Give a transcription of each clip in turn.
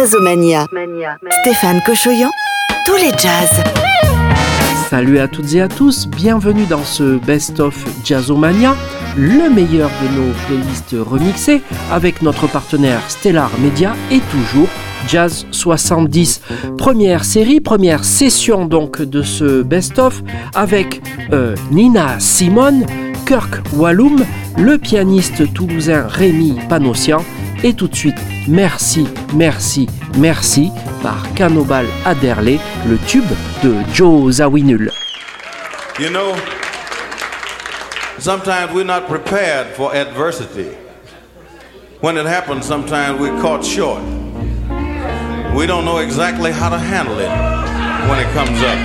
Jazzomania. Stéphane Cochoyan, tous les jazz. Salut à toutes et à tous, bienvenue dans ce Best of Jazzomania, le meilleur de nos playlists remixées avec notre partenaire Stellar Media et toujours Jazz 70. Première série, première session donc de ce Best of avec Nina Simone, Kirk Whalum, le pianiste toulousain Rémi Panossian et tout de suite Merci, merci, merci par Canobal Adderley, le tube de Joe Zawinul. You know, sometimes we're not prepared for adversity. When it happens, sometimes we're caught short. We don't know exactly how to handle it when it comes up.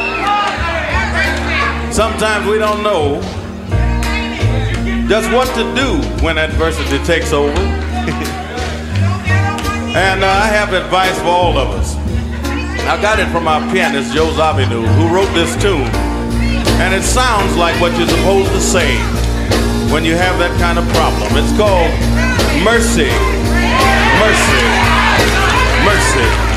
Sometimes we don't know just what to do when adversity takes over. And I have advice for all of us. I got it from our pianist, Joe Zawinul, who wrote this tune. And it sounds like what you're supposed to say when you have that kind of problem. It's called mercy, mercy, mercy.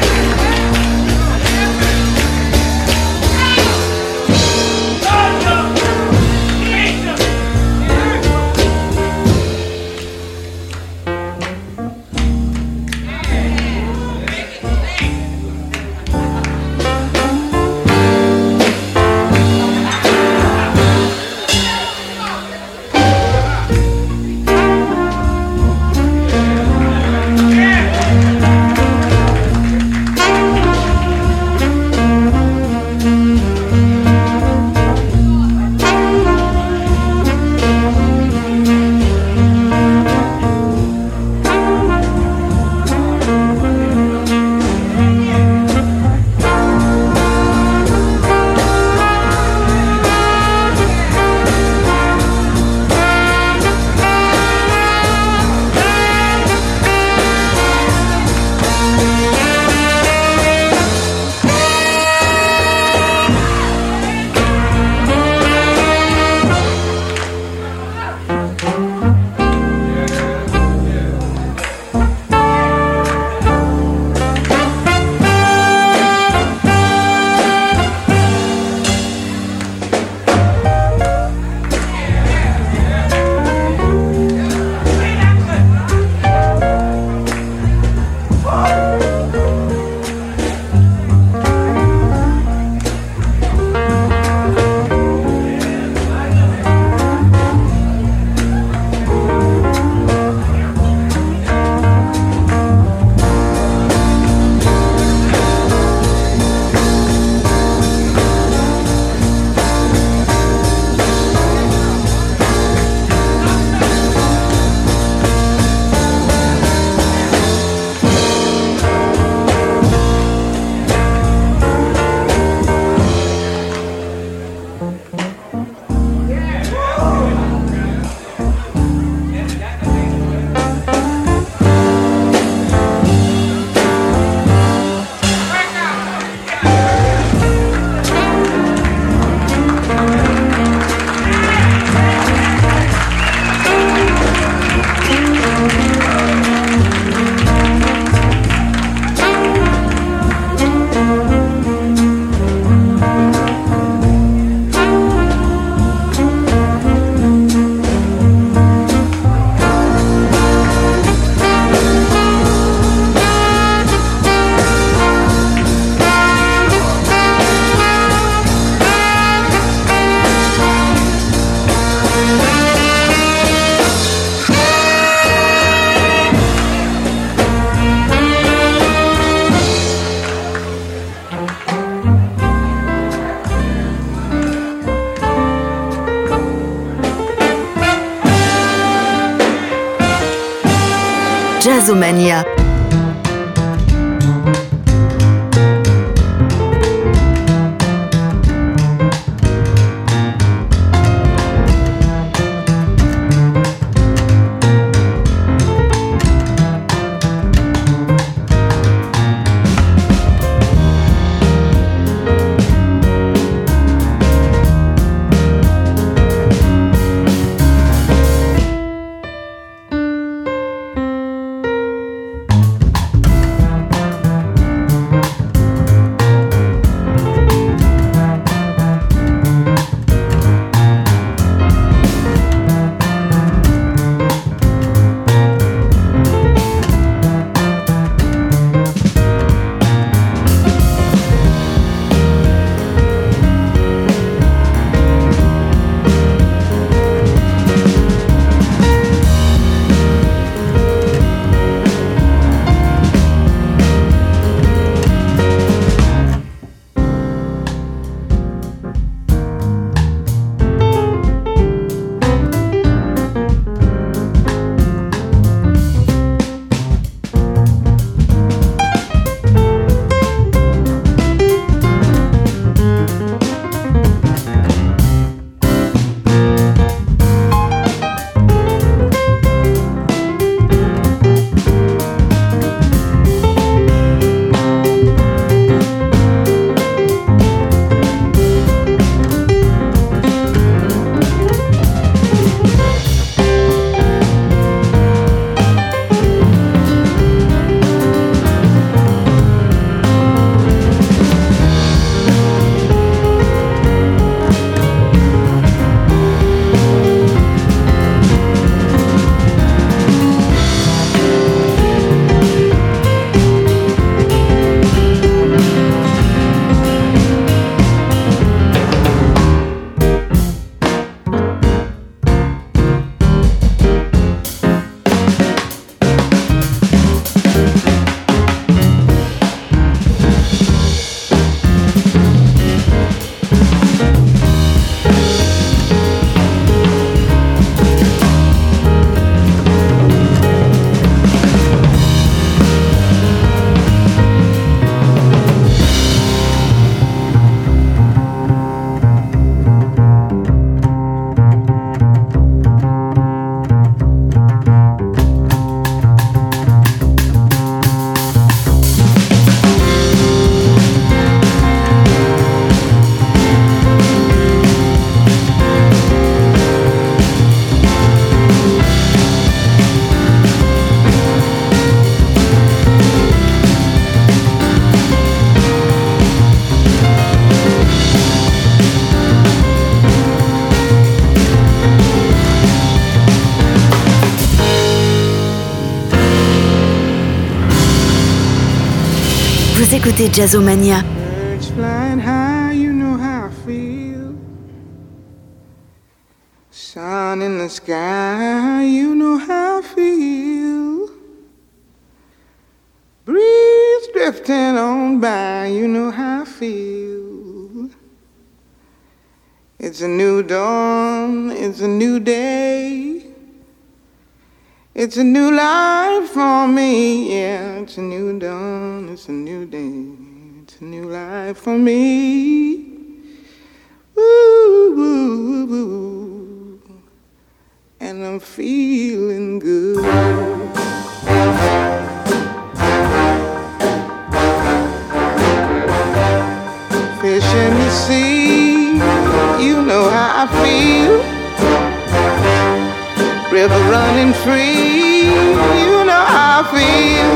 Jazzomania. Vous écoutez Jazzomania. Birds flying high, you know how I feel. Sun in the sky, you know how I feel. Breeze drifting on by, you know how I feel. It's a new dawn, it's a new day. It's a new life for me, yeah. It's a new dawn, it's a new day. It's a new life for me. Woo, woo, woo. And I'm feeling good. Fish in the sea, you know how I feel. River running free, you know how I feel.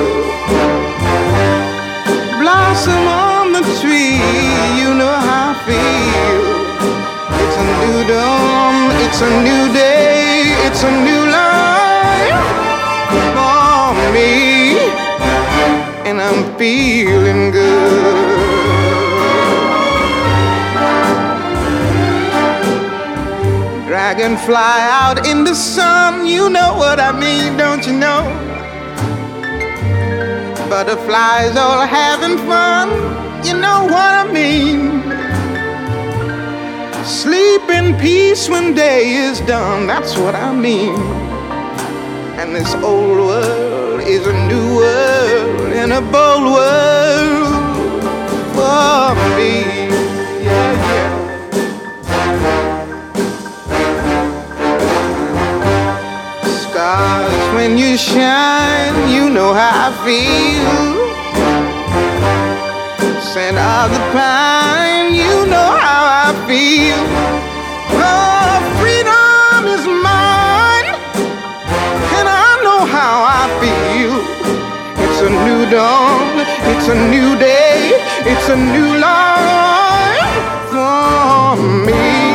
Blossom on the tree, you know how I feel. It's a new dawn, it's a new day, it's a new life for me. And I'm feeling good. Dragonfly out in the sun, you know what I mean, don't you know? Butterflies all having fun, you know what I mean. Sleep in peace when day is done, that's what I mean. And this old world is a new world and a bold world for me. Yeah, yeah. Stars, when you shine, you know how I feel. Scent of the pine, you know how I feel. Oh, freedom is mine, and I know how I feel. It's a new dawn, it's a new day, it's a new life for me.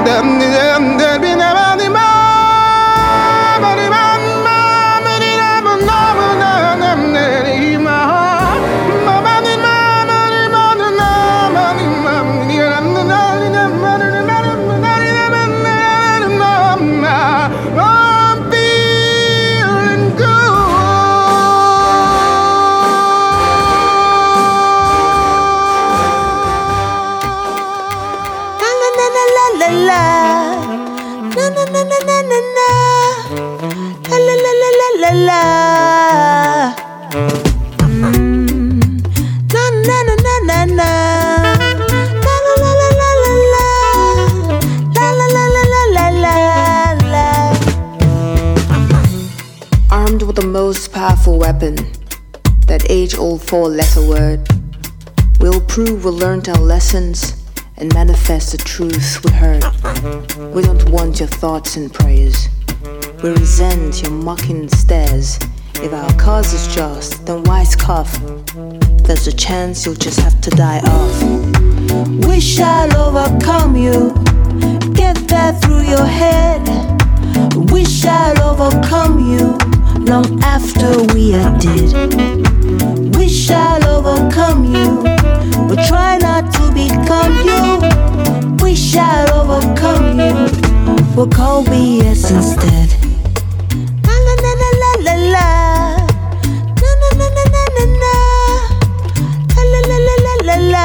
Armed with the most powerful weapon, that age-old four-letter word, we'll prove we learned our lessons and manifest the truth we heard. We don't want your thoughts and prayers. We resent your mocking stares. If our cause is just, then why scoff? There's a chance you'll just have to die off. We shall overcome you. Get that through your head. We shall overcome you long after we are dead. We shall overcome you. We'll try not to become you. We shall overcome you. We'll call BS instead. La la la la la la la. Na na na na na na na. La la la la la la la.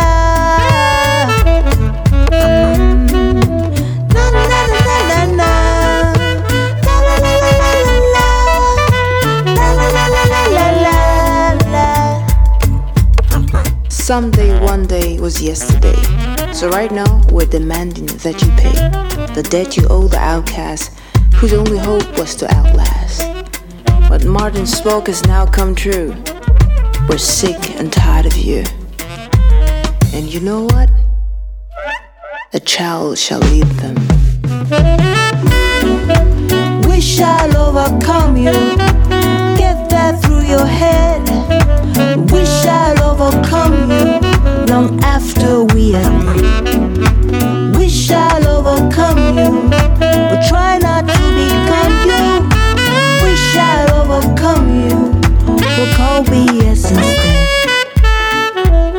Na na na na na na. La la la la la la la. La la la la la la la. Someday, one day was yesterday. So right now, we're demanding that you pay the debt you owe the outcast, whose only hope was to outlast. What Martin spoke has now come true. We're sick and tired of you. And you know what? A child shall lead them. We shall overcome you. Get that through your head. We shall overcome you long after we are dead. We shall overcome you. We'll try not to become you. We shall overcome you. We'll call BS instead.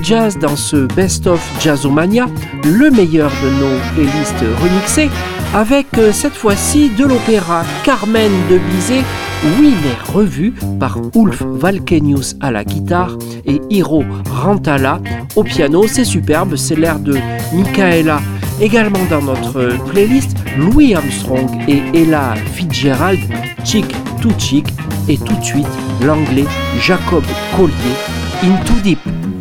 jazz dans ce best-of Jazzomania, le meilleur de nos playlists remixées, avec cette fois-ci de l'opéra Carmen de Bizet, oui mais revu par Ulf Valkenius à la guitare et Hiro Rantala au piano. C'est superbe, c'est l'air de Michaela. Également dans notre playlist, Louis Armstrong et Ella Fitzgerald, Chick to Chick, et tout de suite l'anglais Jacob Collier, Into Deep.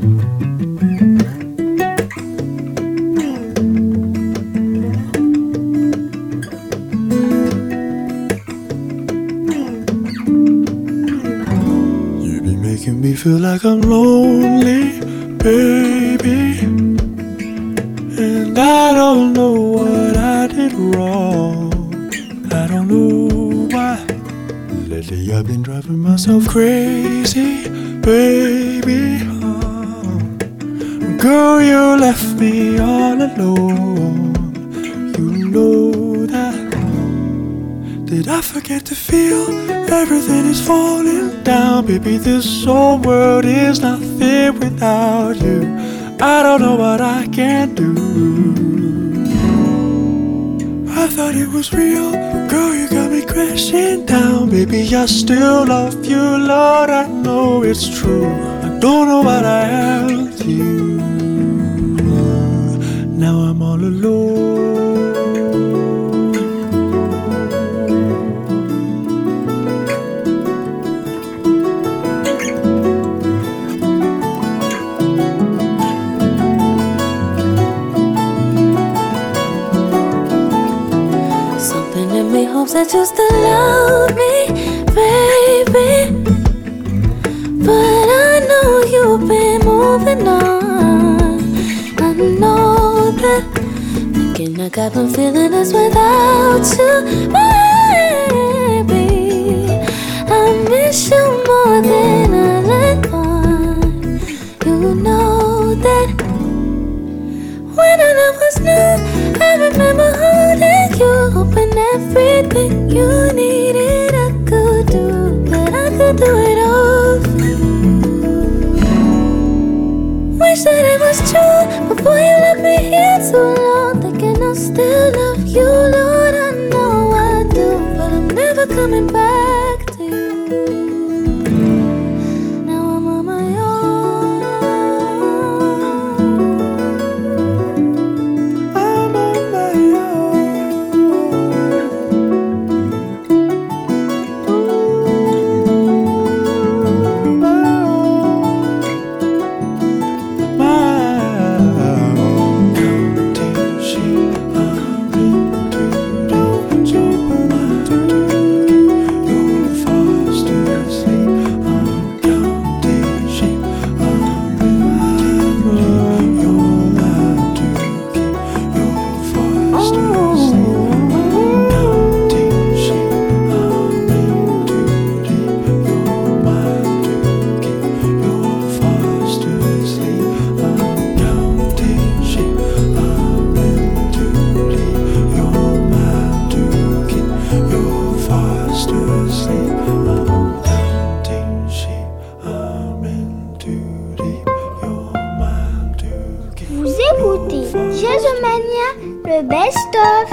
You be making me feel like I'm lonely, baby, and I don't know what I did wrong. I don't know why. Lately I've been driving myself crazy, baby. Girl, you left me all alone. You know that. Did I forget to feel everything is falling down? Baby, this whole world is nothing without you. I don't know what I can do. I thought it was real. Girl, you got me crashing down. Baby, I still love you, Lord, I know it's true. I don't know what I have to you. Now I'm all alone. Something in me hopes that you still love me, baby. But I know you've been moving on. I know that. Thinking I got been feeling this without you, baby. I miss you more than I let on. You know that. When our love was new, I remember holding you, hoping everything you needed I could do, but I could do it all for you. Wish that it was true before you left me here so long, thinking I'll still love you, Lord, I know I do, but I'm never coming back to you. Now I'm on my own. I'm on my le best-of.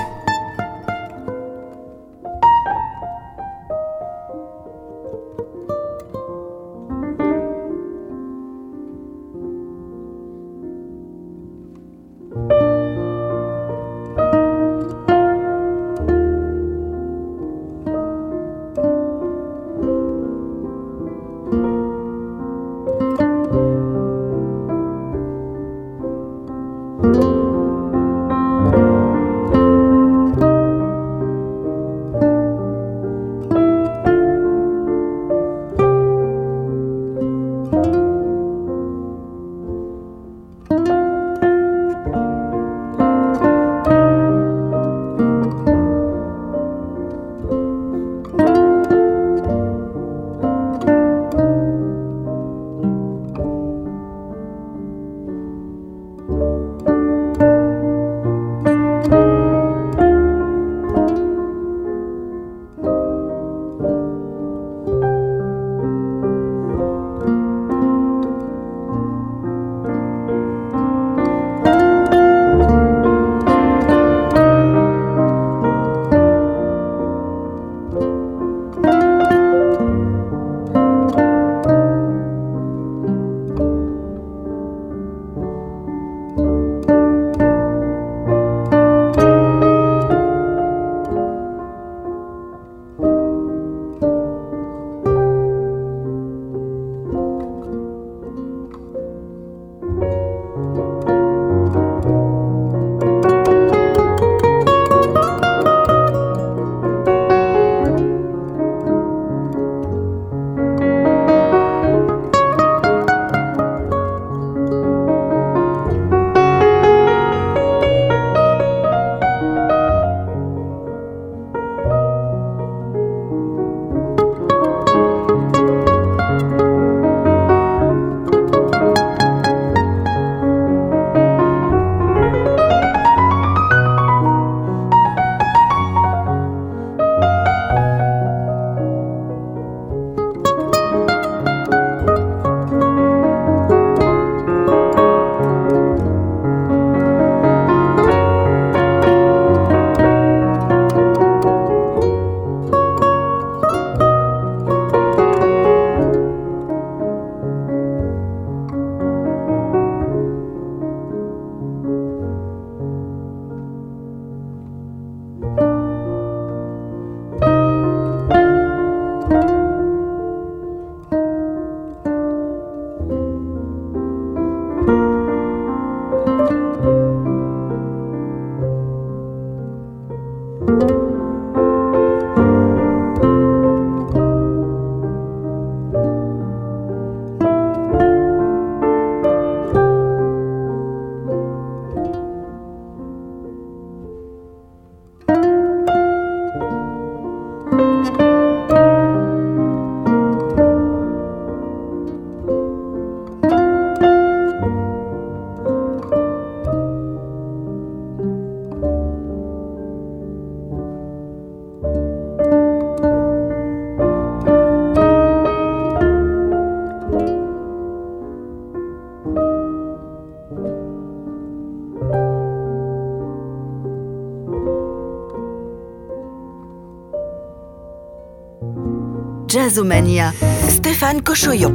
Jazzomania, Stéphane Cochoyon.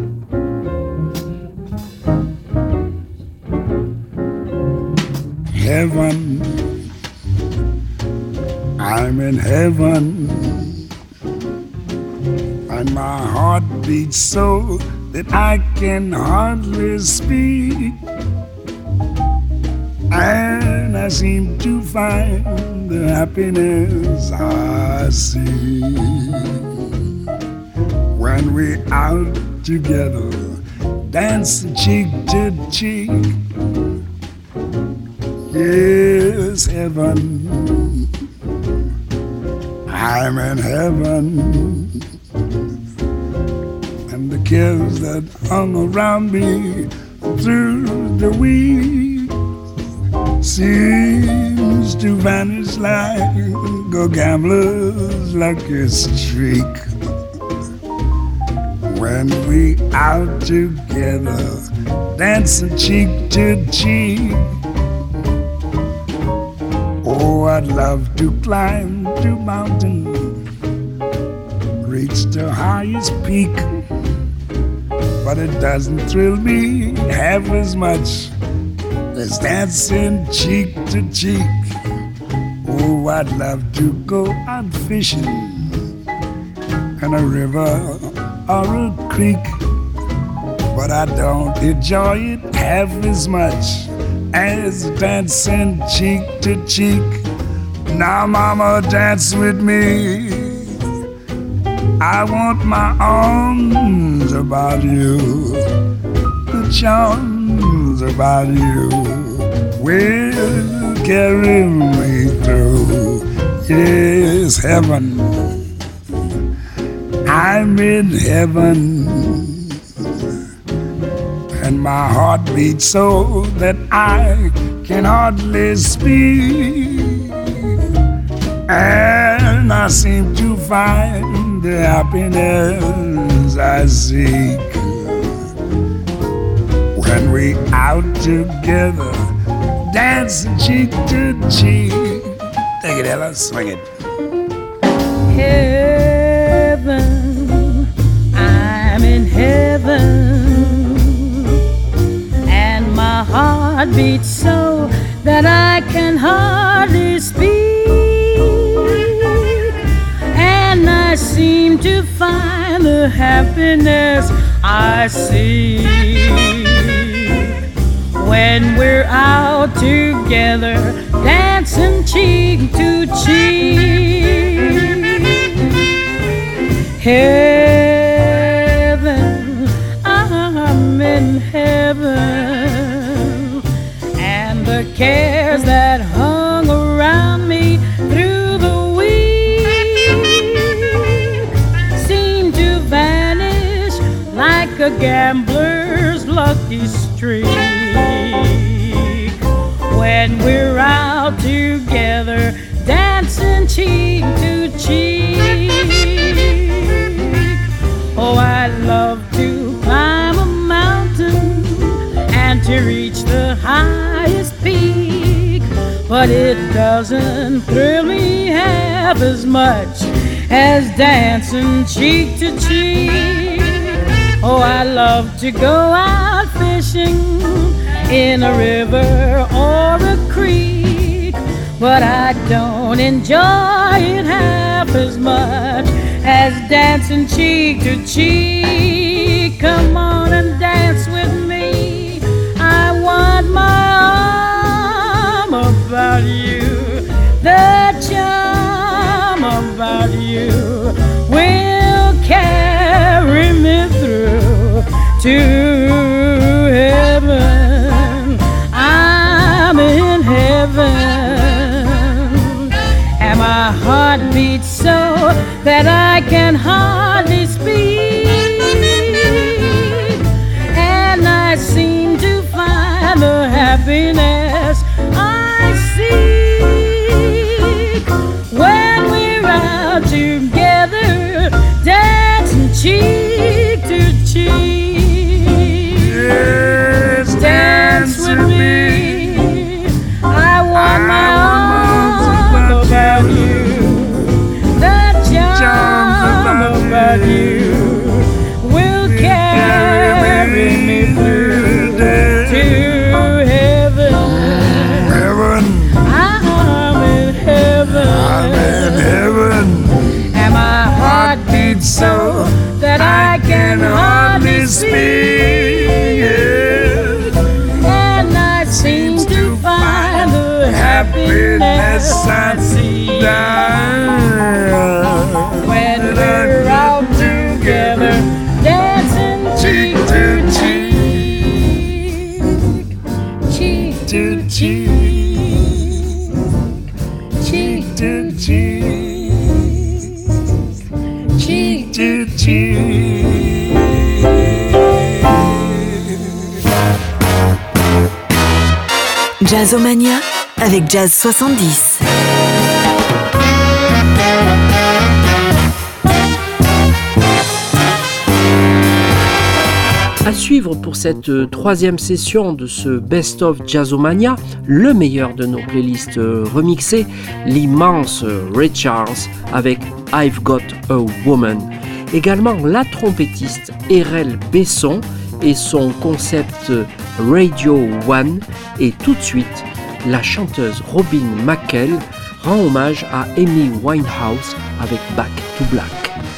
Heaven, I'm in heaven, and my heart beats so that I can hardly speak, and I seem to find the happiness I see when we're out together, dancing cheek to cheek. Yes, heaven, I'm in heaven, and the cares that hung around me through the week seems to vanish like a gambler's lucky streak. When we out together, dancing cheek to cheek. Oh, I'd love to climb the mountain, reach the highest peak, but it doesn't thrill me half as much as dancing cheek to cheek. Oh, I'd love to go out fishing in a river or a creek, but I don't enjoy it half as much as dancing cheek to cheek. Now, mama, dance with me. I want my arms about you, the charms about you will carry me through. Yes, heaven, I'm in heaven, and my heart beats so that I can hardly speak, and I seem to find the happiness I seek when we out together, dancing cheek to cheek. Take it, Ella, swing it. Heaven, I'm in heaven, my heart beats so that I can hardly speak, and I seem to find the happiness I seek when we're out together, dancing cheek to cheek. Heaven, I'm in heaven, the cares that hung around me through the week seem to vanish like a gambler's lucky streak when we're out together, dancing cheek to cheek. Oh, I love to climb a mountain and to reach the highest peak, but it doesn't thrill me half as much as dancing cheek to cheek. Oh, I love to go out fishing in a river or a creek, but I don't enjoy it half as much as dancing cheek to cheek. Come on and dance with me. I want my arm about you. The charm about you will carry me through to heaven. I'm in heaven, and my heart beats so that I can hardly speak, and I seem to find the happiness I seek when we're out together, dancing cheek to cheek. Yes, dance with me. I want my arms about you, the charm about you to cheek. Jazzomania avec Jazz 70. À suivre pour cette troisième session de ce Best of Jazzomania, le meilleur de nos playlists remixées, l'immense Ray Charles avec I've Got a Woman. Également la trompettiste Erel Besson et son concept Radio One. Et tout de suite, la chanteuse Robin McKell rend hommage à Amy Winehouse avec Back to Black.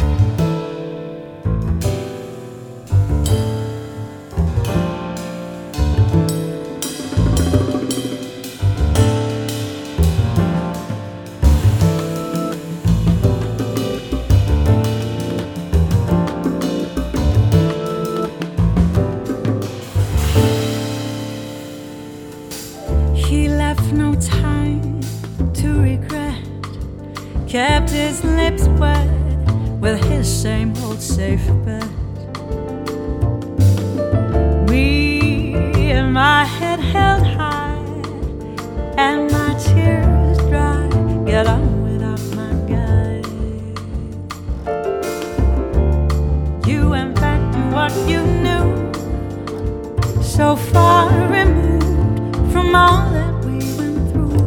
Kept his lips wet with his same old safe bet. Me and my head held high and my tears dry. Get on without my guy. You went back to what you knew, so far removed from all that we went through.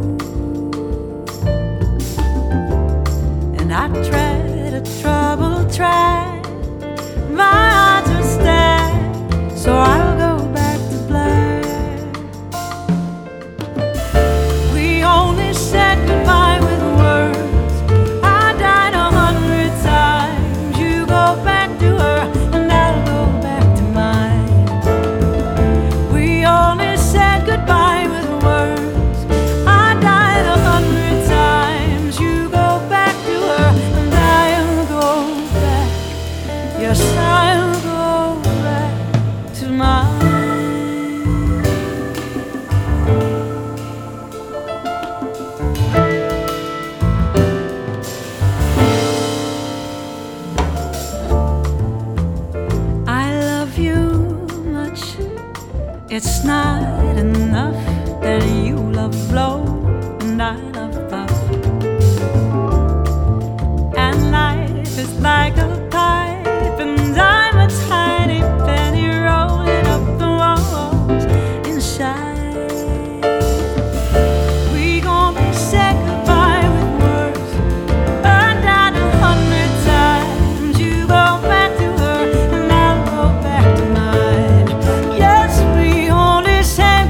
I tread a troubled track, my heart's a stack, so I'll go back to black. We only said goodbye with words, I died 100 times. You go back to her and I'll go back to mine. We only said goodbye with words, I died 100 times. You go back to her and I'll go back. Yes, I'll go back to mine. I love you much. It's not enough that you love blow and I love puff. And life is like a pipe and I'm a tiny penny rolling up the walls inside. We gon' be said goodbye with words, burned out 100 times. You go back to her and I'll go back to mine. Yes, we only said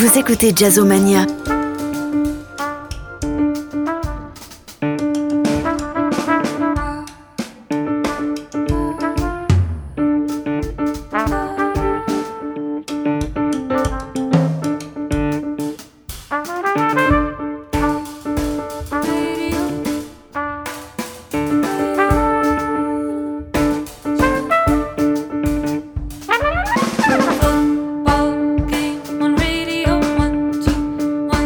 Vous écoutez Jazzomania. Football game on radio, 1, 2, 1,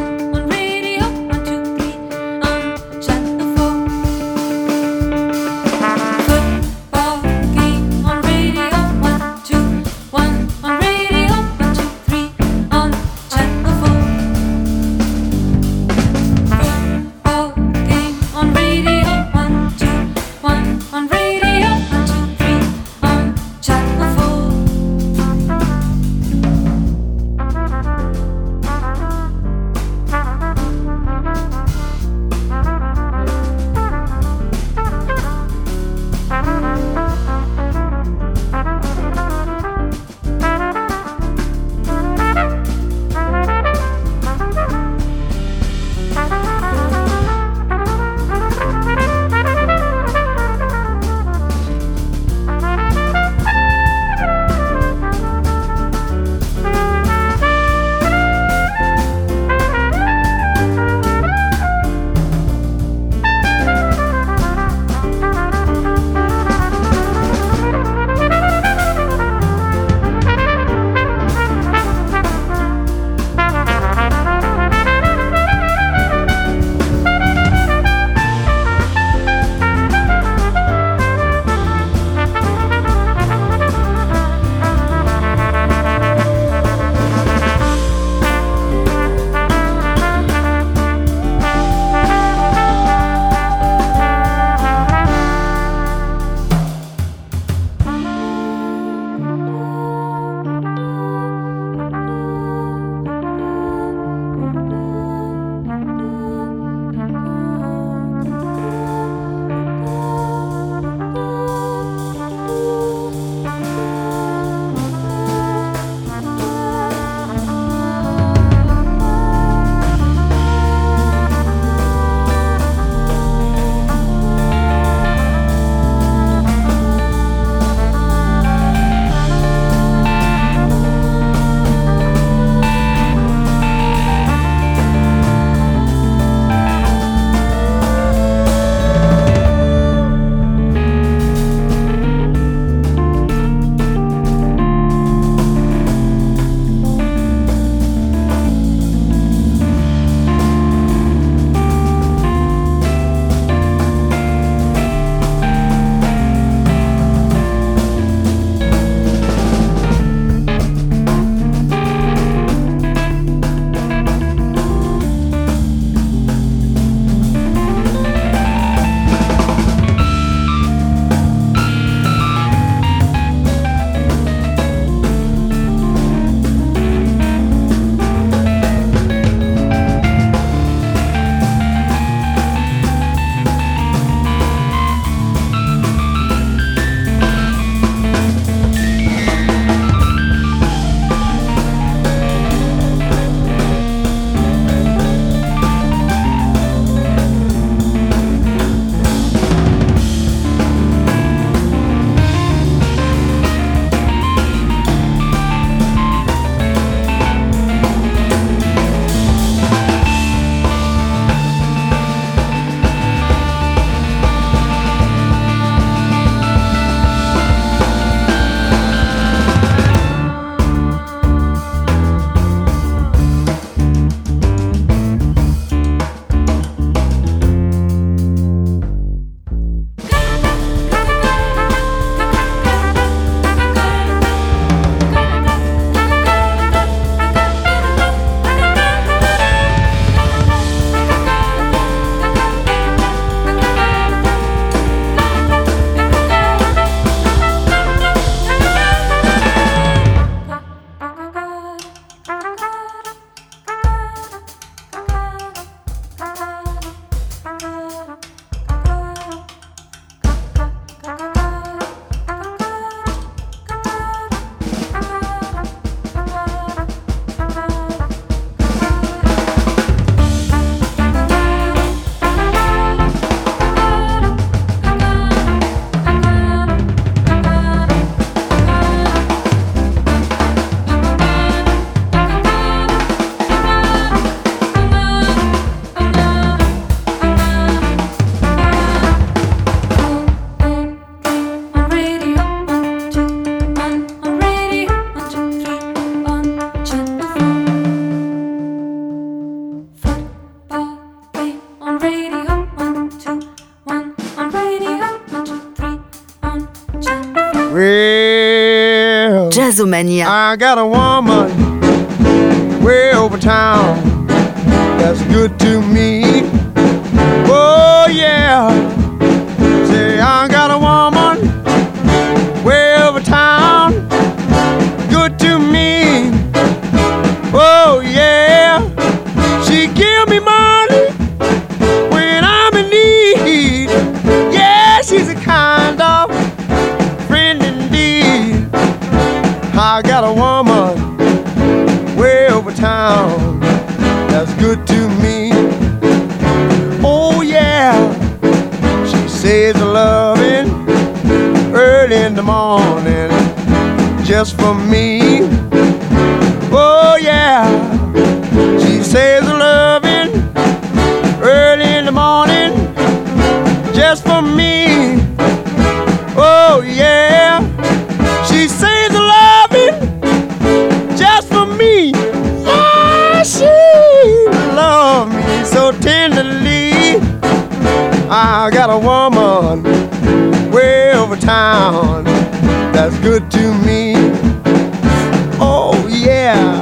Jazzomania. I got a woman way over town that's good to me. Oh yeah. Say I got a woman way over town, good to me. Oh yeah. She give me money when I'm in need. Yeah, she's a kind of friend indeed. I got a woman way over town that's good to me. Oh yeah. She says loving early in the morning just for me. Oh yeah. She says loving early in the morning just for me. Oh yeah. She says loving just for me. Yeah, she loves me so tenderly. I got a woman way over town that's good to me. Oh yeah.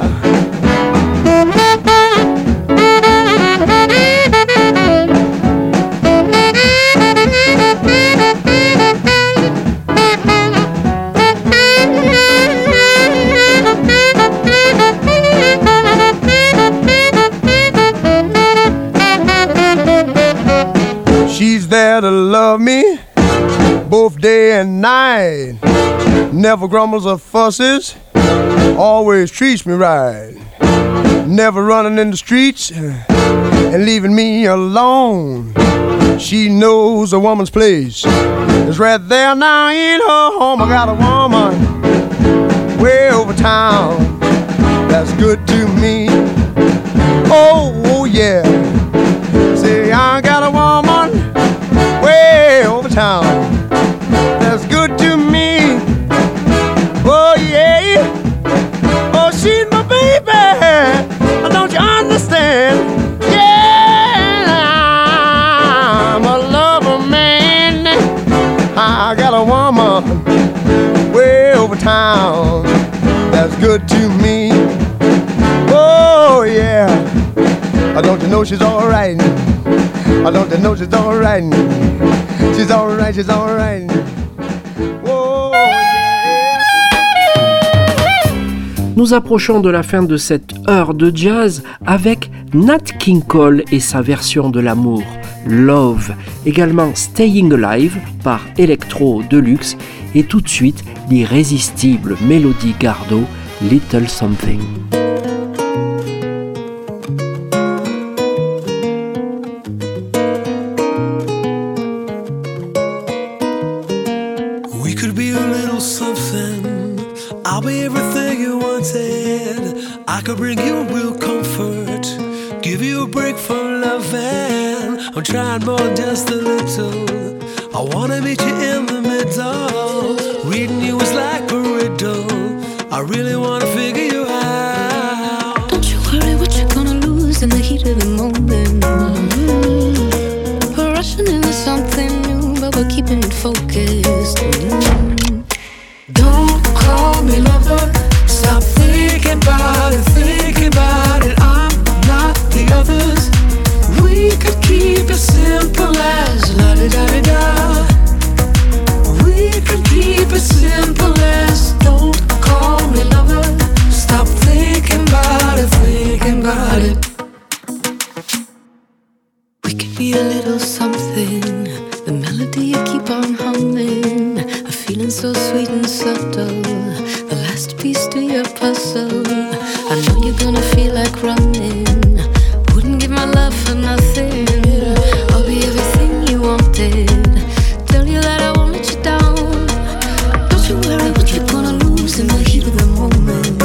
She's there to love me both day and night. Never grumbles or fusses, always treats me right. Never running in the streets and leaving me alone. She knows a woman's place is right there now in her home. I got a woman way over town that's good to me. Oh yeah. Say I got a woman way over town that's good to me. Oh yeah. Oh, she's my baby. Don't you understand? Yeah, I'm a lover man. I got a woman way over town that's good to me. Oh yeah. Don't you know she's alright? Don't you know she's alright? She's alright, she's alright. Oh, yeah. Nous approchons de la fin de cette heure de jazz avec Nat King Cole et sa version de l'amour, Love, également Staying Alive par Electro Deluxe et tout de suite l'irrésistible Melody Gardot, Little Something. I could bring you real comfort, give you a break from loving. I'm trying more than just a little. I wanna meet you in the middle. Reading you is like a riddle. I really wanna figure you out. Don't you worry what you're gonna lose in the heat of the moment. We're rushing into something new, but we're keeping it focused. Don't call me lover. Stop thinking about it, thinking about it. I'm not the others. We could keep it simple as la-di-da-di-da. We could keep it simple as don't call me lover. Stop thinking about it, thinking about it. We could be a little something. The melody you keep on humming. A feeling so sweet and subtle. The last piece to your puzzle. I know you're gonna feel like running. Wouldn't give my love for nothing. I'll be everything you wanted. Tell you that I won't let you down. Don't you worry what you're gonna lose in the heat of the moment.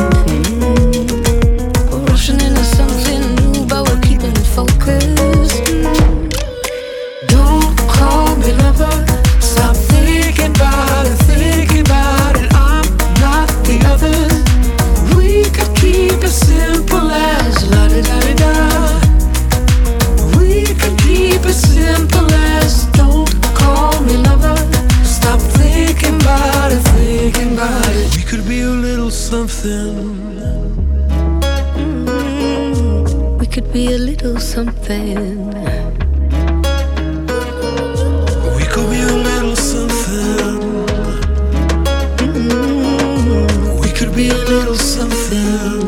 We're rushing into something new, but we're keeping it focused. Don't call me lover. Stop thinking about it, thinking about it. I'm not the others. We could keep it simple as la-di-da-di-da. We could keep it simple as don't something. We could be a little something. We could be a little something. We could be a little something.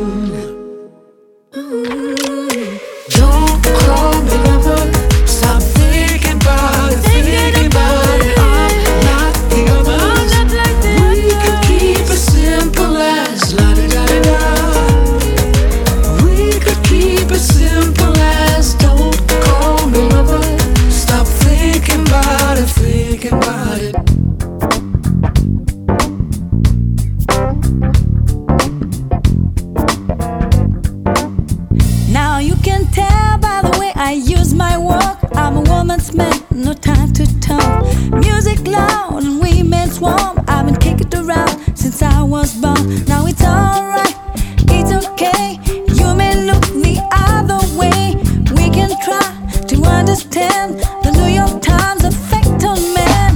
Don't call me lover. Stop thinking about it, thinking about it. I'm not the others. We could keep it simple as la-di-da-di-da. We could keep it simple as don't call me lover. Stop thinking about it, thinking about it. Now you can tell by the way I use my walk, I'm a woman's man, no time to talk. Music loud and women's warm, I've been kicking it around since I was born. Now it's alright, it's okay. You may look the other way. We can try to understand the New York Times effect on men.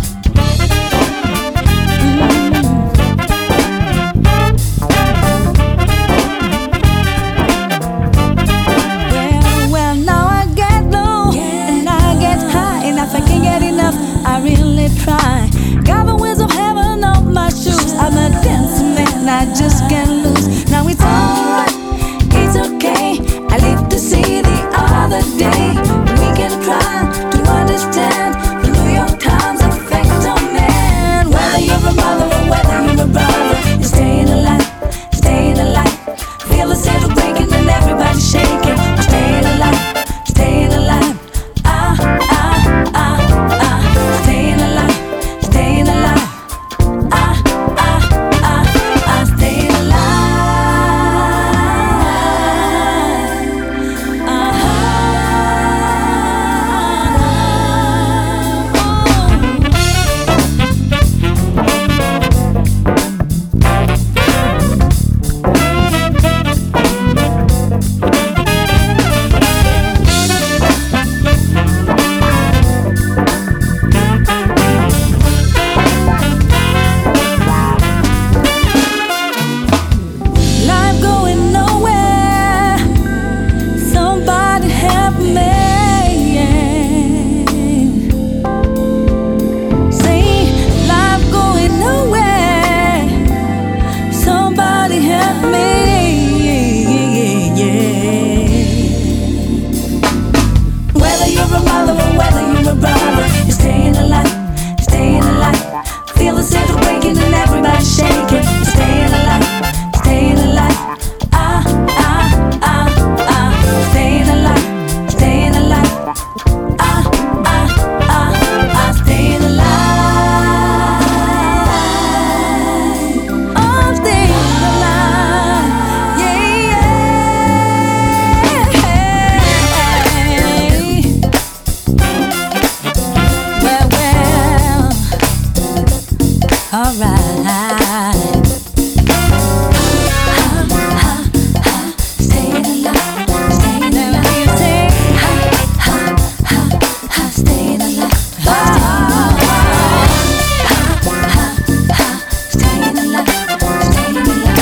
Well, now I get low and I get high, and if I can't get enough, I really try. Got the wheels of heaven on my shoes. I'm a dancing man, I just can't lose. Now it's alright, it's okay. I live to see the other day. We can try to understand the New York Times effect on man. Whether you're a mother or whether you're a brother, you're staying alive, staying alive. Feel the center breaking and everybody shaking. We're staying alive, staying alive. Ah, ah, ah, ah. Staying alive, staying alive. Ah, ah, ah, ah. Staying alive. Ah, life going nowhere. Somebody help me. Say, life going nowhere. Somebody help me. Whether you're a mother or whether you're a brother, you're staying alive, staying alive. Feel the center breaking and everybody shaking. You're staying alive, staying alive. Ah, ah, ah, ah. Staying alive, staying alive. Ah, ah, ah, ah. Staying alive. Oh, staying alive. Yeah, yeah. Well, alright. Staying alive, staying alive. Staying alive, staying alive. Staying alive,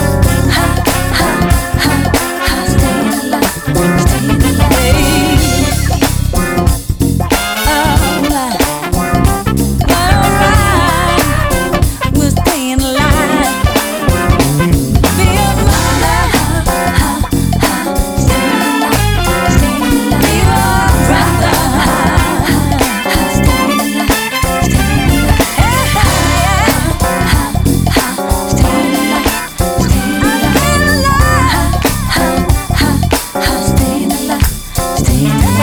staying alive, staying alive. We're staying alive. Be a mother, staying alive, staying alive. Be a brother, staying alive, staying alive. Staying alive, staying alive. Staying alive, staying alive.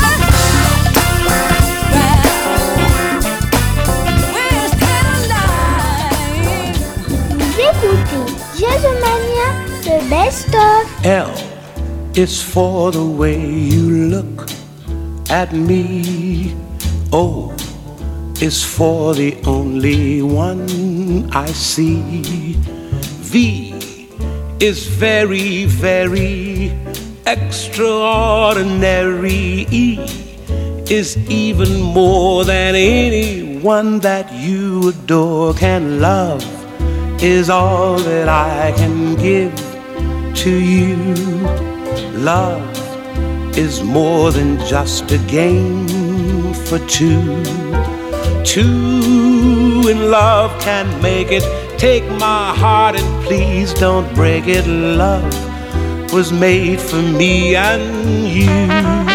We're still alive. Vous écoutez Jazzomania, le best-of. L is for the way you look at me. O is for the only one I see. V is very, very extraordinary. E is even more than anyone that you adore can love is all that I can give to you. Love is more than just a game for two. Two in love can make it. Take my heart and please don't break it. Love was made for me and you.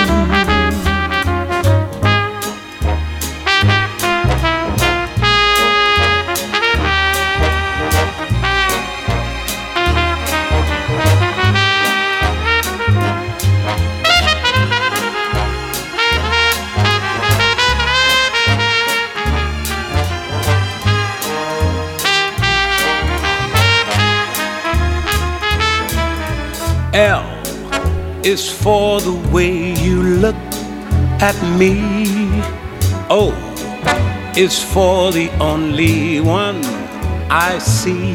L is for the way you look at me. O is for the only one I see.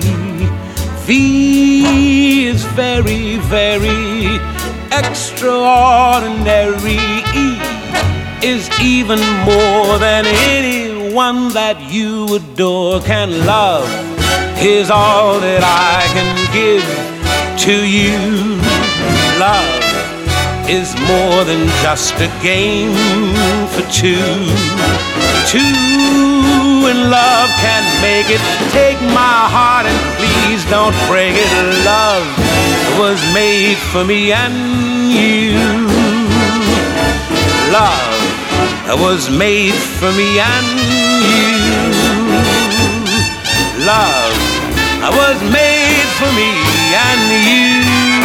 V is very, very extraordinary. E is even more than anyone that you adore can love. Is all that I can give to you. Love is more than just a game for two. Two in love can make it. Take my heart and please don't break it. Love was made for me and you. Love was made for me and you. Love was made for me and you.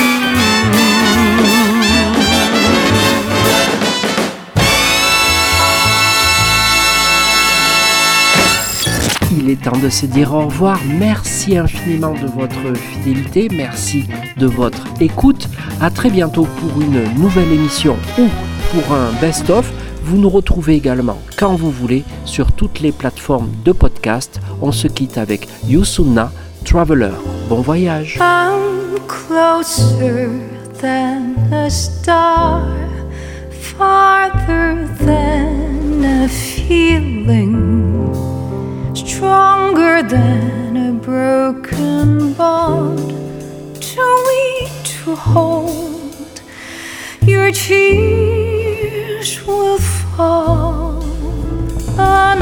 Il est temps de se dire au revoir. Merci infiniment de votre fidélité, merci de votre écoute. À très bientôt pour une nouvelle émission ou pour un best-of. Vous nous retrouvez également quand vous voulez sur toutes les plateformes de podcast. On se quitte avec Youssouna, Traveler. Bon voyage. I'm closer than a star, farther than a feeling, stronger than a broken bond, too weak to hold. Your tears will fall on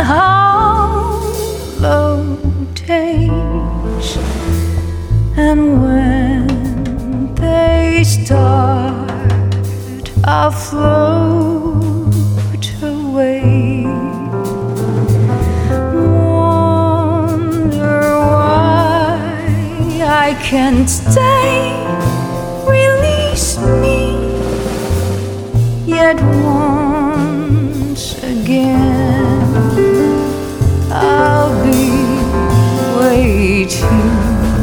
hollow days, and when they start, I'll float away. I can't stay, release me, yet once again I'll be waiting.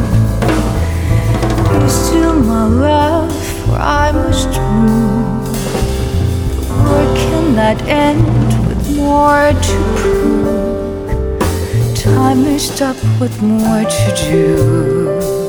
You're still my love, for I must move. The world cannot end with more to prove. Time is up with more to do.